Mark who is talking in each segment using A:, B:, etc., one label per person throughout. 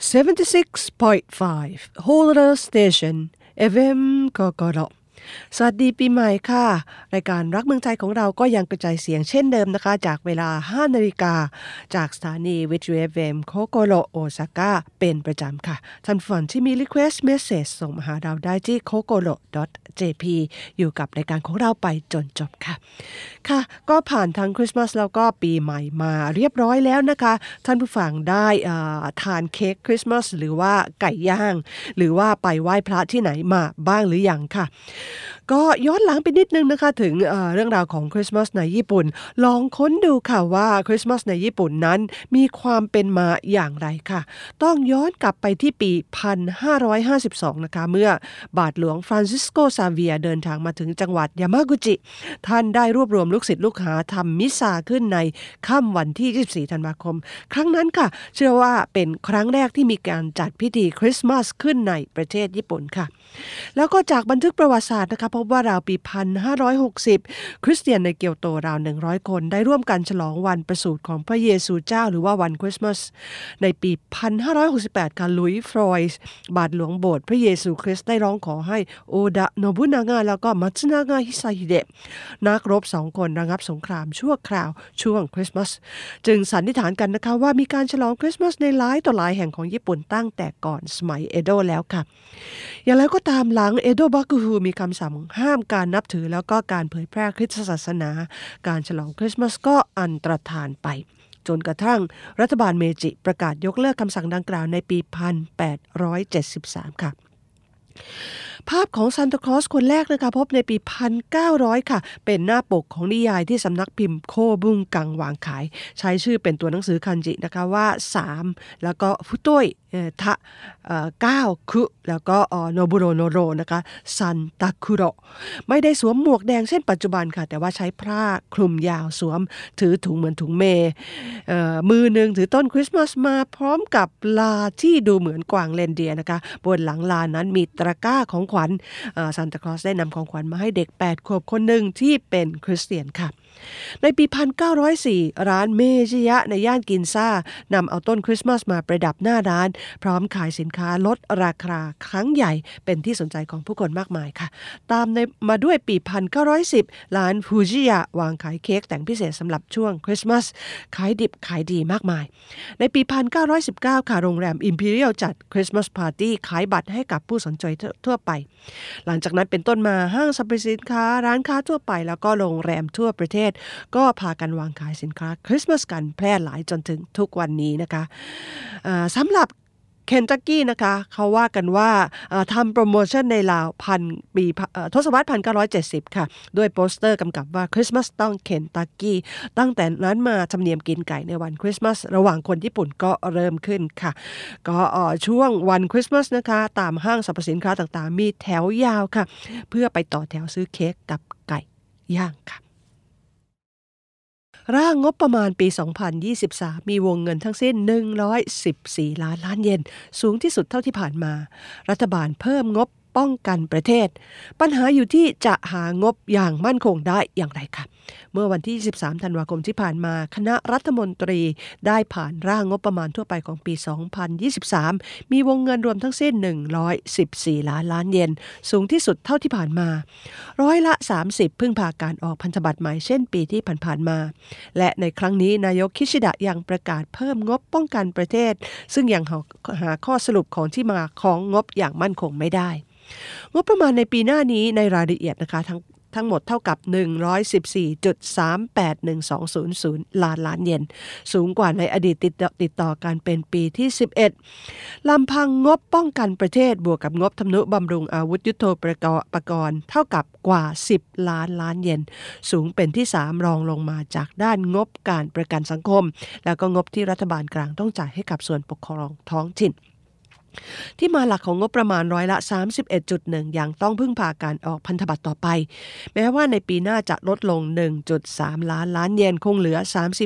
A: 76.5 Holder Station FM กกรสวัสดีปีใหม่ค่ะรายการรักเมืองไทยของเราก็ยังกระจายเสียงเช่นเดิมนะคะจากเวลา 5 นาฬิกาจากสถานีวิทยุ FM โคโกโรโอซาก้าเป็นประจำค่ะท่านผู้ฟังที่มี Request Message ส่งมาหาเราได้ที่ kokoro.jp อยู่กับรายการของเราไปจนจบค่ะค่ะก็ผ่านทั้งคริสต์มาสแล้วก็ปีใหม่มาเรียบร้อยแล้วนะคะท่านผู้ฟังได้ทานเค้กคริสต์มาสหรือว่าไก่ย่างหรือว่าไปไหว้พระที่ไหนมาบ้างหรือยังค่ะก็ย้อนหลังไปนิดนึงนะคะถึงเรื่องราวของคริสต์มาสในญี่ปุ่นลองค้นดูค่ะว่าคริสต์มาสในญี่ปุ่นนั้นมีความเป็นมาอย่างไรค่ะต้องย้อนกลับไปที่ปี 1552 นะคะเมื่อบาทหลวงฟรานซิสโกซาเวียเดินทางมาถึงจังหวัดยามากุจิท่านได้รวบรวมลูกศิษย์ลูกหาทำมิซาขึ้นในค่ำวันที่ 24 ธันวาคมครั้งนั้นค่ะเชื่อว่าเป็นครั้งแรกที่มีการจัดพิธีคริสต์มาสขึ้นในประเทศญี่ปุ่นค่ะแล้วก็จากบันทึกประวัติศาสตร์นะคะพบว่าราวปี 1560 คริสเตียนในเกียวโตราว 100 คนได้ร่วมกันฉลองวันประสูติของพระเยซูเจ้าหรือว่าวันคริสต์มาสในปี 1568 ค่ะลุยส์ฟรอยส์บาทหลวงโบสถ์พระเยซูคริสต์ได้ร้องขอให้โอดะโนบุนางะแล้วก็มัตสึนางะฮิซาฮิเดะนักรบ2คนระงับสงครามชั่วคราวช่วงคริสต์มาสจึงสันนิษฐานกันนะคะว่ามีการฉลองคริสต์มาสในหลายต่อหลายแห่งของญี่ปุ่นตั้งแต่ก่อนสมัยเอโดะแล้วค่ะอย่างไรก็ตามหลังเอโดะบักุฮูมีคำสั่งห้ามการนับถือแล้วก็การเผยแพร่คริสตศาสนาการฉลองคริสต์มาสก็อันตรธานไปจนกระทั่งรัฐบาลเมจิประกาศยกเลิกคำสั่งดังกล่าวในปี 1873 ค่ะภาพของซานตาคลอสคนแรกนะคะพบในปี 1900 ค่ะเป็นหน้าปกของนิยายที่สำนักพิมพ์โคบุงกังวางขายใช้ชื่อเป็นตัวหนังสือคันจินะคะว่า3แล้วก็ฟุโตยทะ9คุแล้วก็โนบุโรโนโรนะคะซันตาคุโรไม่ได้สวมหมวกแดงเช่นปัจจุบันค่ะแต่ว่าใช้ผ้าคลุมยาวสวมถือถุงเหมือนถุงเมมือหนึ่งถือต้นคริสต์มาสมาพร้อมกับลาที่ดูเหมือนกวางเรนเดียร์นะคะบนหลังลานั้นมีตะกร้าของขวัญซานตาคลอสได้นำของขวัญมาให้เด็ก8 ขวบคนหนึ่งที่เป็นคริสเตียนค่ะในปี 1904 ร้านเมจิยะในย่านกินซ่านำเอาต้นคริสต์มาสมาประดับหน้าร้านพร้อมขายสินค้าลดราคาครั้งใหญ่เป็นที่สนใจของผู้คนมากมายค่ะตามมาด้วยปี 1910 ร้านฟูจิยะวางขายเค้กแต่งพิเศษสำหรับช่วงคริสต์มาสขายดิบขายดีมากมายในปี 1919 ค่ะโรงแรม Imperial จัดคริสต์มาสปาร์ตี้ขายบัตรให้กับผู้สนใจทั่วไปหลังจากนั้นเป็นต้นมาห้างสรรพสินค้าร้านค้าทั่วไปแล้วก็โรงแรมทั่วประเทศก็พากันวางขายสินค้าคริสต์มาสกันแพร่หลายจนถึงทุกวันนี้นะคะสำหรับเคนตักกี้นะคะเขาว่ากันว่าทำโปรโมชั่นในราวปีทศวรรษ 1970 ค่ะด้วยโปสเตอร์กำกับว่าคริสต์มาสต้องเคนตักกี้ตั้งแต่นั้นมาธรรมเนียมกินไก่ในวันคริสต์มาสระหว่างคนญี่ปุ่นก็เริ่มขึ้นค่ะก็ช่วงวันคริสต์มาสนะคะตามห้างสรรพสินค้าต่างๆมีแถวยาวค่ะเพื่อไปต่อแถวซื้อเค้กกับไก่ย่างค่ะร่างงบประมาณปี 2023 มีวงเงินทั้งสิ้น114 ล้านเยนสูงที่สุดเท่าที่ผ่านมารัฐบาลเพิ่มงบป้องกันประเทศปัญหาอยู่ที่จะหางบอย่างมั่นคงได้อย่างไรค่ะเมื่อวันที่ 23 ธันวาคมที่ผ่านมาคณะรัฐมนตรีได้ผ่านร่างงบประมาณทั่วไปของปี 2023 มีวงเงินรวมทั้งสิ้น114 ล้านเยนสูงที่สุดเท่าที่ผ่านมา30%พึ่งพาการออกพันธบัตรใหม่เช่นปีที่ผ่านมาและในครั้งนี้นายกคิชิดะยังประกาศเพิ่มงบป้องกันประเทศซึ่งยังหาข้อสรุปของที่มาของงบอย่างมั่นคงไม่ได้งบประมาณในปีหน้านี้ในรายละเอียดนะคะทั้งหมดเท่ากับ 114.381200 ล้านเยนสูงกว่าในอดีตติดต่อกันเป็นปีที่11ลำพังงบป้องกันประเทศบวกกับงบทำนุบำรุงอาวุธยุทโธปกรณ์เท่ากับกว่า10 ล้านเยนสูงเป็นที่3รองลงมาจากด้านงบการประกันสังคมแล้วก็งบที่รัฐบาลกลางต้องจ่ายให้กับส่วนปกครองท้องถิ่นที่มาหลักของงบประมาณร้อยละ 31.1 ยังต้องพึ่งพาการออกพันธบัตรต่อไปแม้ว่าในปีหน้าจะลดลง 1.3 ล้านเยนคงเหลือ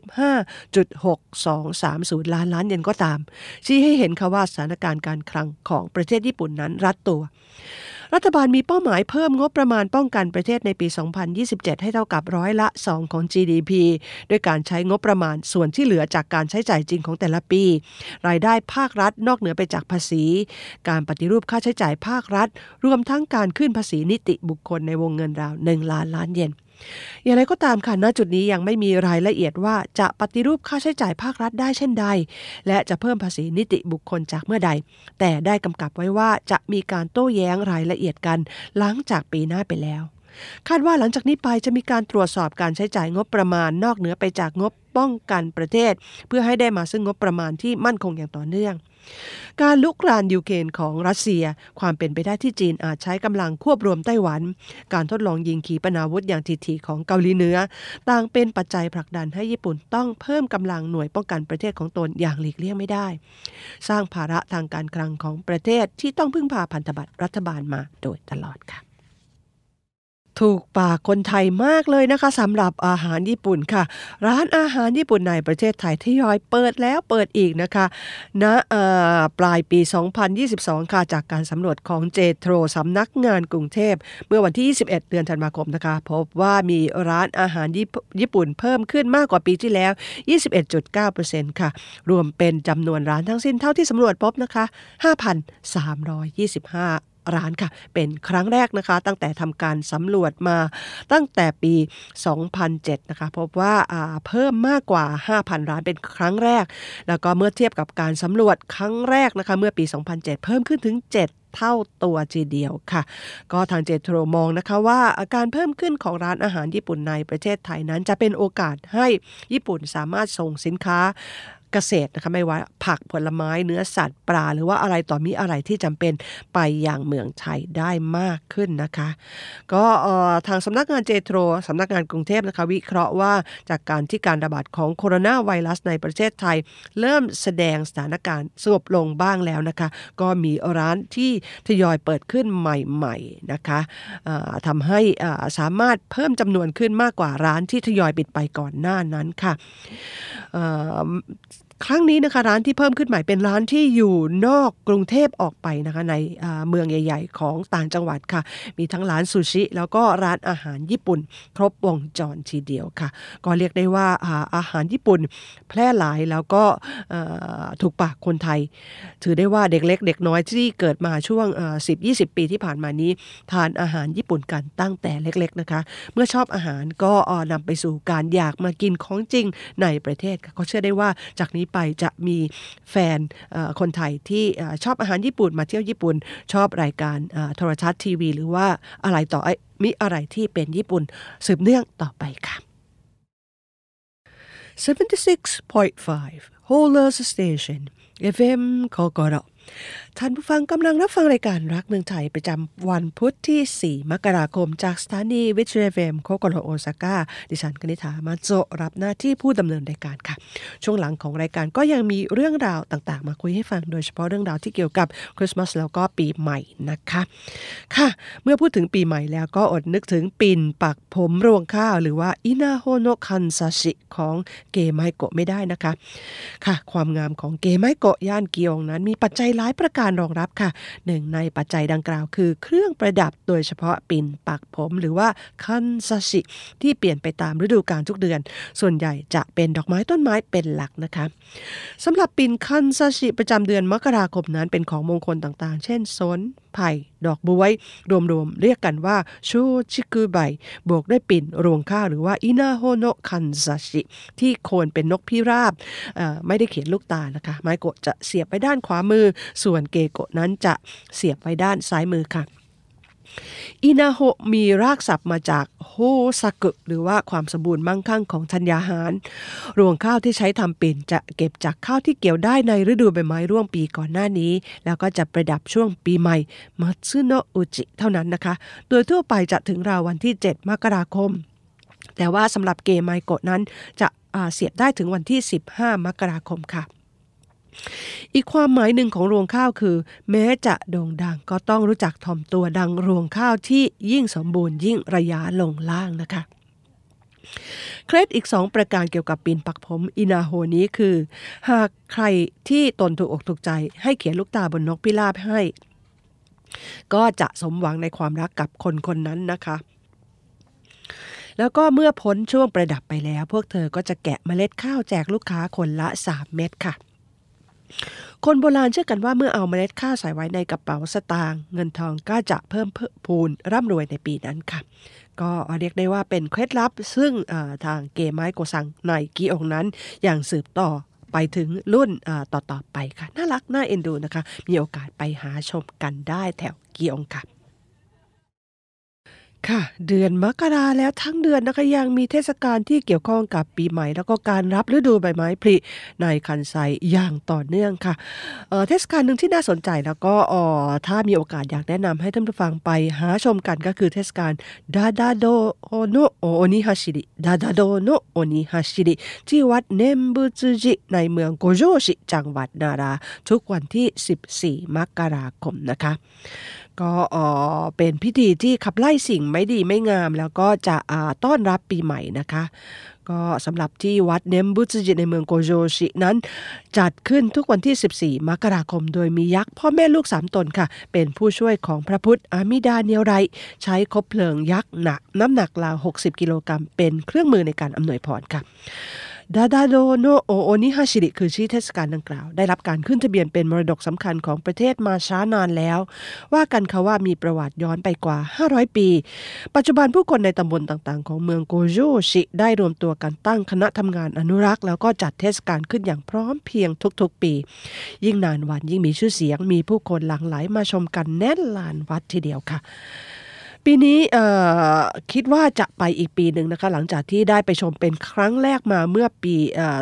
A: 35.6230 ล้านเยนก็ตามชี้ให้เห็นค่ะว่าสถานการณ์การคลังของประเทศญี่ปุ่นนั้นรัดตัวรัฐบาลมีเป้าหมายเพิ่มงบประมาณป้องกันประเทศในปี 2027 ให้เท่ากับ2%ของ GDP ด้วยการใช้งบประมาณส่วนที่เหลือจากการใช้จ่ายจริงของแต่ละปีรายได้ภาครัฐนอกเหนือไปจากภาษีการปฏิรูปค่าใช้จ่ายภาครัฐรวมทั้งการขึ้นภาษีนิติบุคคลในวงเงินราว1 ล้านล้านเยนอย่างไรก็ตามค่ะณจุดนี้ยังไม่มีรายละเอียดว่าจะปฏิรูปค่าใช้จ่ายภาครัฐได้เช่นใดและจะเพิ่มภาษีนิติบุคคลจากเมื่อใดแต่ได้กำกับไว้ว่าจะมีการโต้แย้งรายละเอียดกันหลังจากปีหน้าไปแล้วคาดว่าหลังจากนี้ไปจะมีการตรวจสอบการใช้จ่ายงบประมาณนอกเหนือไปจากงบป้องกันประเทศเพื่อให้ได้มาซึ่งงบประมาณที่มั่นคงอย่างต่อเนื่องการลุกรานยูเครนของรัสเซียความเป็นไปได้ที่จีนอาจใช้กำลังควบรวมไต้หวันการทดลองยิงขีปนาวุธอย่างถี่ๆของเกาหลีเหนือต่างเป็นปัจจัยผลักดันให้ญี่ปุ่นต้องเพิ่มกำลังหน่วยป้องกันประเทศของตนอย่างหลีกเลี่ยงไม่ได้สร้างภาระทางการคลังของประเทศที่ต้องพึ่งพาพันธบัตรรัฐบาลมาโดยตลอดค่ะถูกปากคนไทยมากเลยนะคะสำหรับอาหารญี่ปุ่นค่ะร้านอาหารญี่ปุ่นในประเทศไทยทยอยเปิดแล้วเปิดอีกนะคะณปลายปี 2022 ค่ะจากการสำรวจของเจโทรสำนักงานกรุงเทพเมื่อวันที่ 21 เดือนธันวาคมนะคะพบว่ามีร้านอาหารญี่ปุ่นเพิ่มขึ้นมากกว่าปีที่แล้ว 21.9% ค่ะรวมเป็นจำนวนร้านทั้งสิ้นเท่าที่สำรวจพบนะคะ 5,325ร้านค่ะเป็นครั้งแรกนะคะตั้งแต่ทำการสำรวจมาตั้งแต่ปี 2007 นะคะพบว่าเพิ่มมากกว่า 5,000 ร้านเป็นครั้งแรกแล้วก็เมื่อเทียบกับการสำรวจครั้งแรกนะคะเมื่อปี 2007 เพิ่มขึ้นถึง 7 เท่าตัวทีเดียวค่ะก็ทางเจโทรมองนะคะว่าการเพิ่มขึ้นของร้านอาหารญี่ปุ่นในประเทศไทยนั้นจะเป็นโอกาสให้ญี่ปุ่นสามารถส่งสินค้าเกษตรนะคะไม่ว่าผักผลไม้เนื้อสัตว์ปลาหรือว่าอะไรต่อมีอะไรที่จำเป็นไปอย่างเมืองไทยได้มากขึ้นนะคะก็ทางสำนักงานเจโทรสำนักงานกรุงเทพนะคะวิเคราะห์ว่าจากการที่การระบาดของโคโรนาไวรัสในประเทศไทยเริ่มแสดงสถานการณ์สงบลงบ้างแล้วนะคะก็มีร้านที่ทยอยเปิดขึ้นใหม่ๆนะคะทำให้สามารถเพิ่มจำนวนขึ้นมากกว่าร้านที่ทยอยปิดไปก่อนหน้านั้นค่ะครั้งนี้นะคะร้านที่เพิ่มขึ้นใหม่เป็นร้านที่อยู่นอกกรุงเทพออกไปนะคะในเมืองใหญ่ๆของต่างจังหวัดค่ะมีทั้งร้านซูชิแล้วก็ร้านอาหารญี่ปุ่นครบวงจรทีเดียวค่ะก็เรียกได้ว่าอาหารญี่ปุ่นแพร่หลายแล้วก็ถูกปากคนไทยถือได้ว่าเด็กเล็กเด็กน้อยที่เกิดมาช่วง10-20 ปีที่ผ่านมานี้ทานอาหารญี่ปุ่นกันตั้งแต่เล็กๆนะคะเมื่อชอบอาหารก็นำไปสู่การอยากมากินของจริงในประเทศค่ะก็เชื่อได้ว่าจากนี้ไปจะมีแฟนคนไทยที่ชอบอาหารญี่ปุ่นมาเที่ยวญี่ปุ่นชอบรายการโทรทัศน์ทีวีหรือว่าอะไรต่อมีอะไรที่เป็นญี่ปุ่นสืบเนื่องต่อไปค่ะ 76.5 Holders Station FM โคโกโรท่านผู้ฟังกำลังรับฟังรายการรักเมืองไทยประจำวันพุธที่ 4 มกราคมจากสถานีวิทยุ FM โคโกโรโอซาก้าดิฉันกนิษฐามาโจรับหน้าที่ผู้ดำเนินรายการค่ะช่วงหลังของรายการก็ยังมีเรื่องราวต่างๆมาคุยให้ฟังโดยเฉพาะเรื่องราวที่เกี่ยวกับคริสต์มาสแล้วก็ปีใหม่นะคะค่ะเมื่อพูดถึงปีใหม่แล้วก็อดนึกถึงปิ่นปักผมรวงข้าวหรือว่าอินาโฮโนะคันซาชิของเกไมโกะไม่ได้นะคะค่ะความงามของเกไมโกะย่านเกียงนั้นมีปัจจัยหลายประการรองรับค่ะหนึ่งในปัจจัยดังกล่าวคือเครื่องประดับโดยเฉพาะปิ่นปักผมหรือว่าคันซาชิที่เปลี่ยนไปตามฤดูกาลทุกเดือนส่วนใหญ่จะเป็นดอกไม้ต้นไม้เป็นหลักนะคะสำหรับปิ่นคันซาชิประจำเดือนมกราคมนั้นเป็นของมงคลต่างๆเช่นสนไผ่ดอกบ๊วยรวมๆเรียกกันว่าโชชิกุไบบวกด้วยปิ่นรวงข้าวหรือว่าอินาโฮโนะคันซาชิที่โคนเป็นนกพิราบไม่ได้เขียนลูกตานะคะไม้โกะจะเสียบไปด้านขวามือส่วนเกโกะนั้นจะเสียบไว้ด้านซ้ายมือค่ะอินาโฮมีรากศัพท์มาจากโฮซากุหรือว่าความสมบูรณ์มั่งคั่งของธัญญาหารรวงข้าวที่ใช้ทำปิ่นจะเก็บจากข้าวที่เกี่ยวได้ในฤดูใบไม้ร่วงปีก่อนหน้านี้แล้วก็จะประดับช่วงปีใหม่มัตสึโนะอุจิเท่านั้นนะคะโดยทั่วไปจะถึงราววันที่ 7 มกราคมแต่ว่าสำหรับเกไมโกะนั้นจะเสียบได้ถึงวันที่ 15 มกราคมค่ะอีกความหมายหนึ่งของรวงข้าวคือแม้จะโด่งดังก็ต้องรู้จักถ่อมตัวดังรวงข้าวที่ยิ่งสมบูรณ์ยิ่งระยะลงล่างนะคะเคล็ดอีก2ประการเกี่ยวกับปิ่นปักผมอินาโฮนี้คือหากใครที่ตนถูกอกถูกใจให้เขียนลูกตาบนนกพิราบให้ก็จะสมหวังในความรักกับคนคนนั้นนะคะแล้วก็เมื่อพ้นช่วงประดับไปแล้วพวกเธอก็จะแกะเมล็ดข้าวแจกลูกค้าคนละ3 เม็ดค่ะคนโบราณเชื่อกันว่าเมื่อเอาเมล็ดข้าวใส่ไว้ในกระเป๋าสตางค์เงินทองก็จะเพิ่มพูนร่ำรวยในปีนั้นค่ะก็เรียกได้ว่าเป็นเคล็ดลับซึ่งทางเกไม้โกซังในกิองนั้นยังสืบต่อไปถึงรุ่นต่อๆไปค่ะน่ารักน่าเอ็นดูนะคะมีโอกาสไปหาชมกันได้แถวกิองค่ะค่ะเดือนมกราแล้วทั้งเดือนนะคะยังมีเทศกาลที่เกี่ยวข้องกับปีใหม่แล้วก็การรับฤดูใบไม้ผลิในคันไซอย่างต่อเนื่องค่ะเทศกาลหนึ่งที่น่าสนใจแล้วก็ถ้ามีโอกาสอยากแนะนำให้ท่านผู้ฟังไปหาชมกันก็คือเทศกาลดาดาโดโนโอนิฮาชิริดาดาโดโนโอนิฮาชิริที่วัดเนมบุตจิในเมืองโกโจชิจังหวัดนาราทุกวันที่14 มกราคมนะคะก็เป็นพิธีที่ขับไล่สิ่งไม่ดีไม่งามแล้วก็จะต้อนรับปีใหม่นะคะก็สำหรับที่วัดเนมบุตจิในเมืองโกโจชินั้นจัดขึ้นทุกวันที่14 มกราคมโดยมียักษ์พ่อแม่ลูก3 ตนค่ะเป็นผู้ช่วยของพระพุทธอามิดาเนียวไรใช้คบเพลิงยักษ์น้ำหนักราว60 กิโลกรัมเป็นเครื่องมือในการอำนวยพรค่ะดาดาโดโนโอโอนิฮาชิริคือชื่อเทศกาลดังกล่าวได้รับการขึ้นทะเบียนเป็นมรดกสำคัญของประเทศมาช้านานแล้วว่ากันค่ะว่ามีประวัติย้อนไปกว่า500 ปีปัจจุบันผู้คนในตำบลต่างๆของเมืองโกโจชิได้รวมตัวกันตั้งคณะทำงานอนุรักษ์แล้วก็จัดเทศกาลขึ้นอย่างพร้อมเพรียงทุกๆปียิ่งนานวันยิ่งมีชื่อเสียงมีผู้คนหลั่งไหลมาชมกันแน่นลานวัดทีเดียวค่ะปีนี้คิดว่าจะไปอีกปีหนึ่งนะคะหลังจากที่ได้ไปชมเป็นครั้งแรกมาเมื่อปี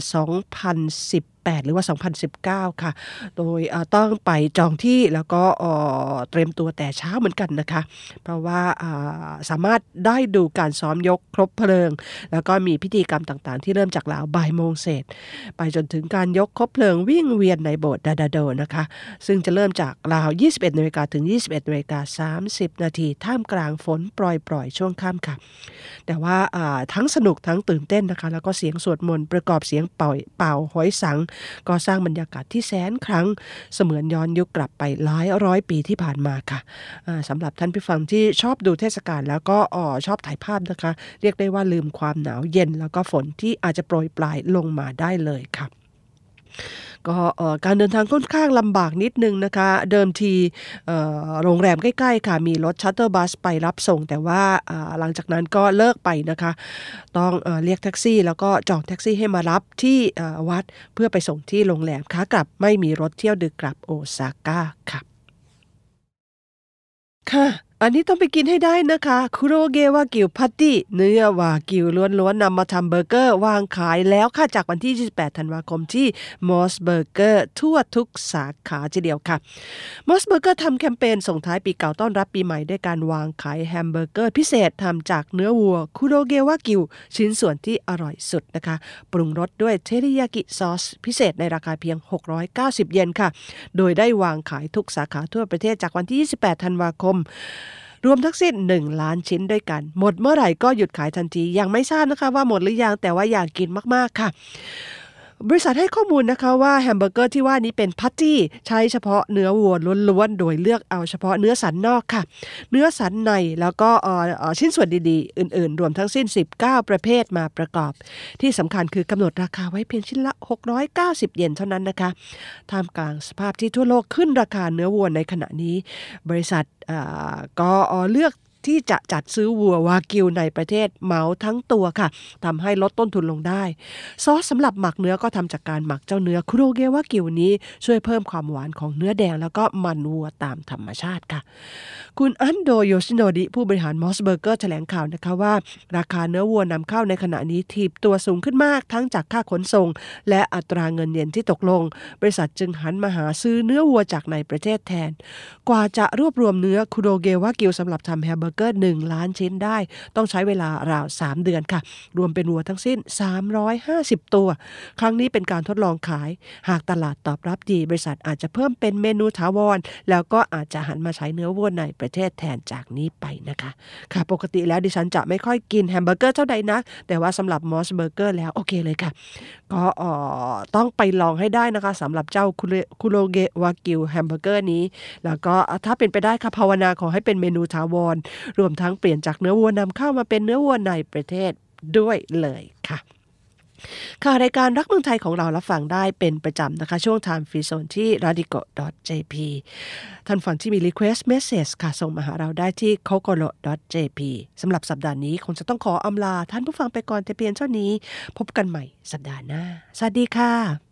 A: 2018หรือว่า2019ค่ะโดยต้องไปจองที่แล้วก็เตรียมตัวแต่เช้าเหมือนกันนะคะเพราะว่าสามารถได้ดูการซ้อมยกครบเพลิงแล้วก็มีพิธีกรรมต่างๆที่เริ่มจากราวบ่ายโมงเศษไปจนถึงการยกครบเพลิงวิ่งเวียนในโบสถ์ดาดาโดนะคะซึ่งจะเริ่มจากราว 21 นาฬิกาถึง 21:30 นาทีท่ามกลางฝนปล่อยๆช่วงค่ำค่ะแต่ว่าทั้งสนุกทั้งตื่นเต้นนะคะแล้วก็เสียงสวดมนต์ประกอบเสียงเป่าหอยสังก็สร้างบรรยากาศที่แสนครั้งเสมือนย้อนยุคกลับไปหลายร้อยปีที่ผ่านมาค่ะสำหรับท่านผู้ฟังที่ชอบดูเทศกาลแล้วก็ชอบถ่ายภาพนะคะเรียกได้ว่าลืมความหนาวเย็นแล้วก็ฝนที่อาจจะโปรยปลายลงมาได้เลยค่ะก็การเดินทางค่อนข้างลำบากนิดนึงนะคะเดิมทีโรงแรมใกล้ๆค่ะมีรถชัตเตอร์บัสไปรับส่งแต่ว่าหลังจากนั้นก็เลิกไปนะคะต้องเรียกแท็กซี่แล้วก็จองแท็กซี่ให้มารับที่วัดเพื่อไปส่งที่โรงแรมขากลับไม่มีรถเที่ยวดึกกลับโอซาก้าค่ะค่ะอันนี้ต้องไปกินให้ได้นะคะคุโรเกวากิวพัตติเนื้อวากิวล้วนๆนำมาทำเบอร์เกอร์วางขายแล้วค่ะจากวันที่28 ธันวาคมที่มอสเบอร์เกอร์ทั่วทุกสาขาทีเดียวค่ะมอสเบอร์เกอร์ทำแคมเปญส่งท้ายปีเก่าต้อนรับปีใหม่ด้วยการวางขายแฮมเบอร์เกอร์พิเศษทำจากเนื้อวัวคุโรเกวากิวชิ้นส่วนที่อร่อยสุดนะคะปรุงรสด้วยเทริยากิซอสพิเศษในราคาเพียง690 เยนค่ะโดยได้วางขายทุกสาขาทั่วประเทศจากวันที่28 ธันวาคมรวมทั้งสิ้น1 ล้านชิ้นด้วยกันหมดเมื่อไหร่ก็หยุดขายทันทียังไม่ทราบนะคะว่าหมดหรือยังแต่ว่าอยากกินมากๆค่ะบริษัทให้ข้อมูลนะคะว่าแฮมเบอร์เกอร์ที่ว่านี้เป็นพัตตี้ใช้เฉพาะเนื้อวัวล้วนๆโดยเลือกเอาเฉพาะเนื้อสันนอกค่ะเนื้อสันในแล้วก็ชิ้นส่วนดีๆอื่นๆรวมทั้งสิ้น19 ประเภทมาประกอบที่สำคัญคือกำหนดราคาไว้เพียงชิ้นละ690 เยนเท่านั้นนะคะท่ามกลางสภาพที่ทั่วโลกขึ้นราคาเนื้อวัวในขณะนี้บริษัทก็เลือกที่จะจัดซื้อวัววากิวในประเทศเหมาทั้งตัวค่ะทำให้ลดต้นทุนลงได้ซอสสำหรับหมักเนื้อก็ทำจากการหมักเจ้าเนื้อคุโรเกวากิวนี้ช่วยเพิ่มความหวานของเนื้อแดงแล้วก็มันวัวตามธรรมชาติค่ะคุณอันโดโยชิโนดิผู้บริหารมอสเบอร์เกอร์แถลงข่าวนะคะว่าราคาเนื้อวัวนำเข้าในขณะนี้ถีบตัวสูงขึ้นมากทั้งจากค่าขนส่งและอัตราเงินเยนที่ตกลงบริษัทจึงหันมาหาซื้อเนื้อวัวจากในประเทศแทนกว่าจะรวบรวมเนื้อคุโรเกวากิวสำหรับทำแฮมเบอร์เบอร์เกอร์1ล้านชิ้นได้ต้องใช้เวลาราว3เดือนค่ะรวมเป็นวัวทั้งสิ้น350ตัวครั้งนี้เป็นการทดลองขายหากตลาดตอบรับดีบริษัทอาจจะเพิ่มเป็นเมนูถาวรแล้วก็อาจจะหันมาใช้เนื้อวัวในประเทศแทนจากนี้ไปนะคะค่ะปกติแล้วดิฉันจะไม่ค่อยกินแฮมเบอร์เกอร์เท่าใดนักแต่ว่าสำหรับมอสเบอร์เกอร์แล้วโอเคเลยค่ะก็ต้องไปลองให้ได้นะคะสำหรับเจ้าคุโรเกะวากิวแฮมเบอร์เกอร์นี้แล้วก็ถ้าเป็นไปได้ค่ะภาวนาขอให้เป็นเมนูถาวรรวมทั้งเปลี่ยนจากเนื้อวัวนำเข้ามาเป็นเนื้อวัวในประเทศด้วยเลยค่ะค่ะรายการรักเมืองไทยของเรารับฟังได้เป็นประจำนะคะช่วง Time Free Zone ที่ radico.jp ท่านฟังที่มี request message ค่ะส่งมาหาเราได้ที่ kokoro.jp สำหรับสัปดาห์นี้คงจะต้องขออำลาท่านผู้ฟังไปก่อนแต่เพียงเท่านี้พบกันใหม่สัปดาห์หน้าสวัสดีค่ะ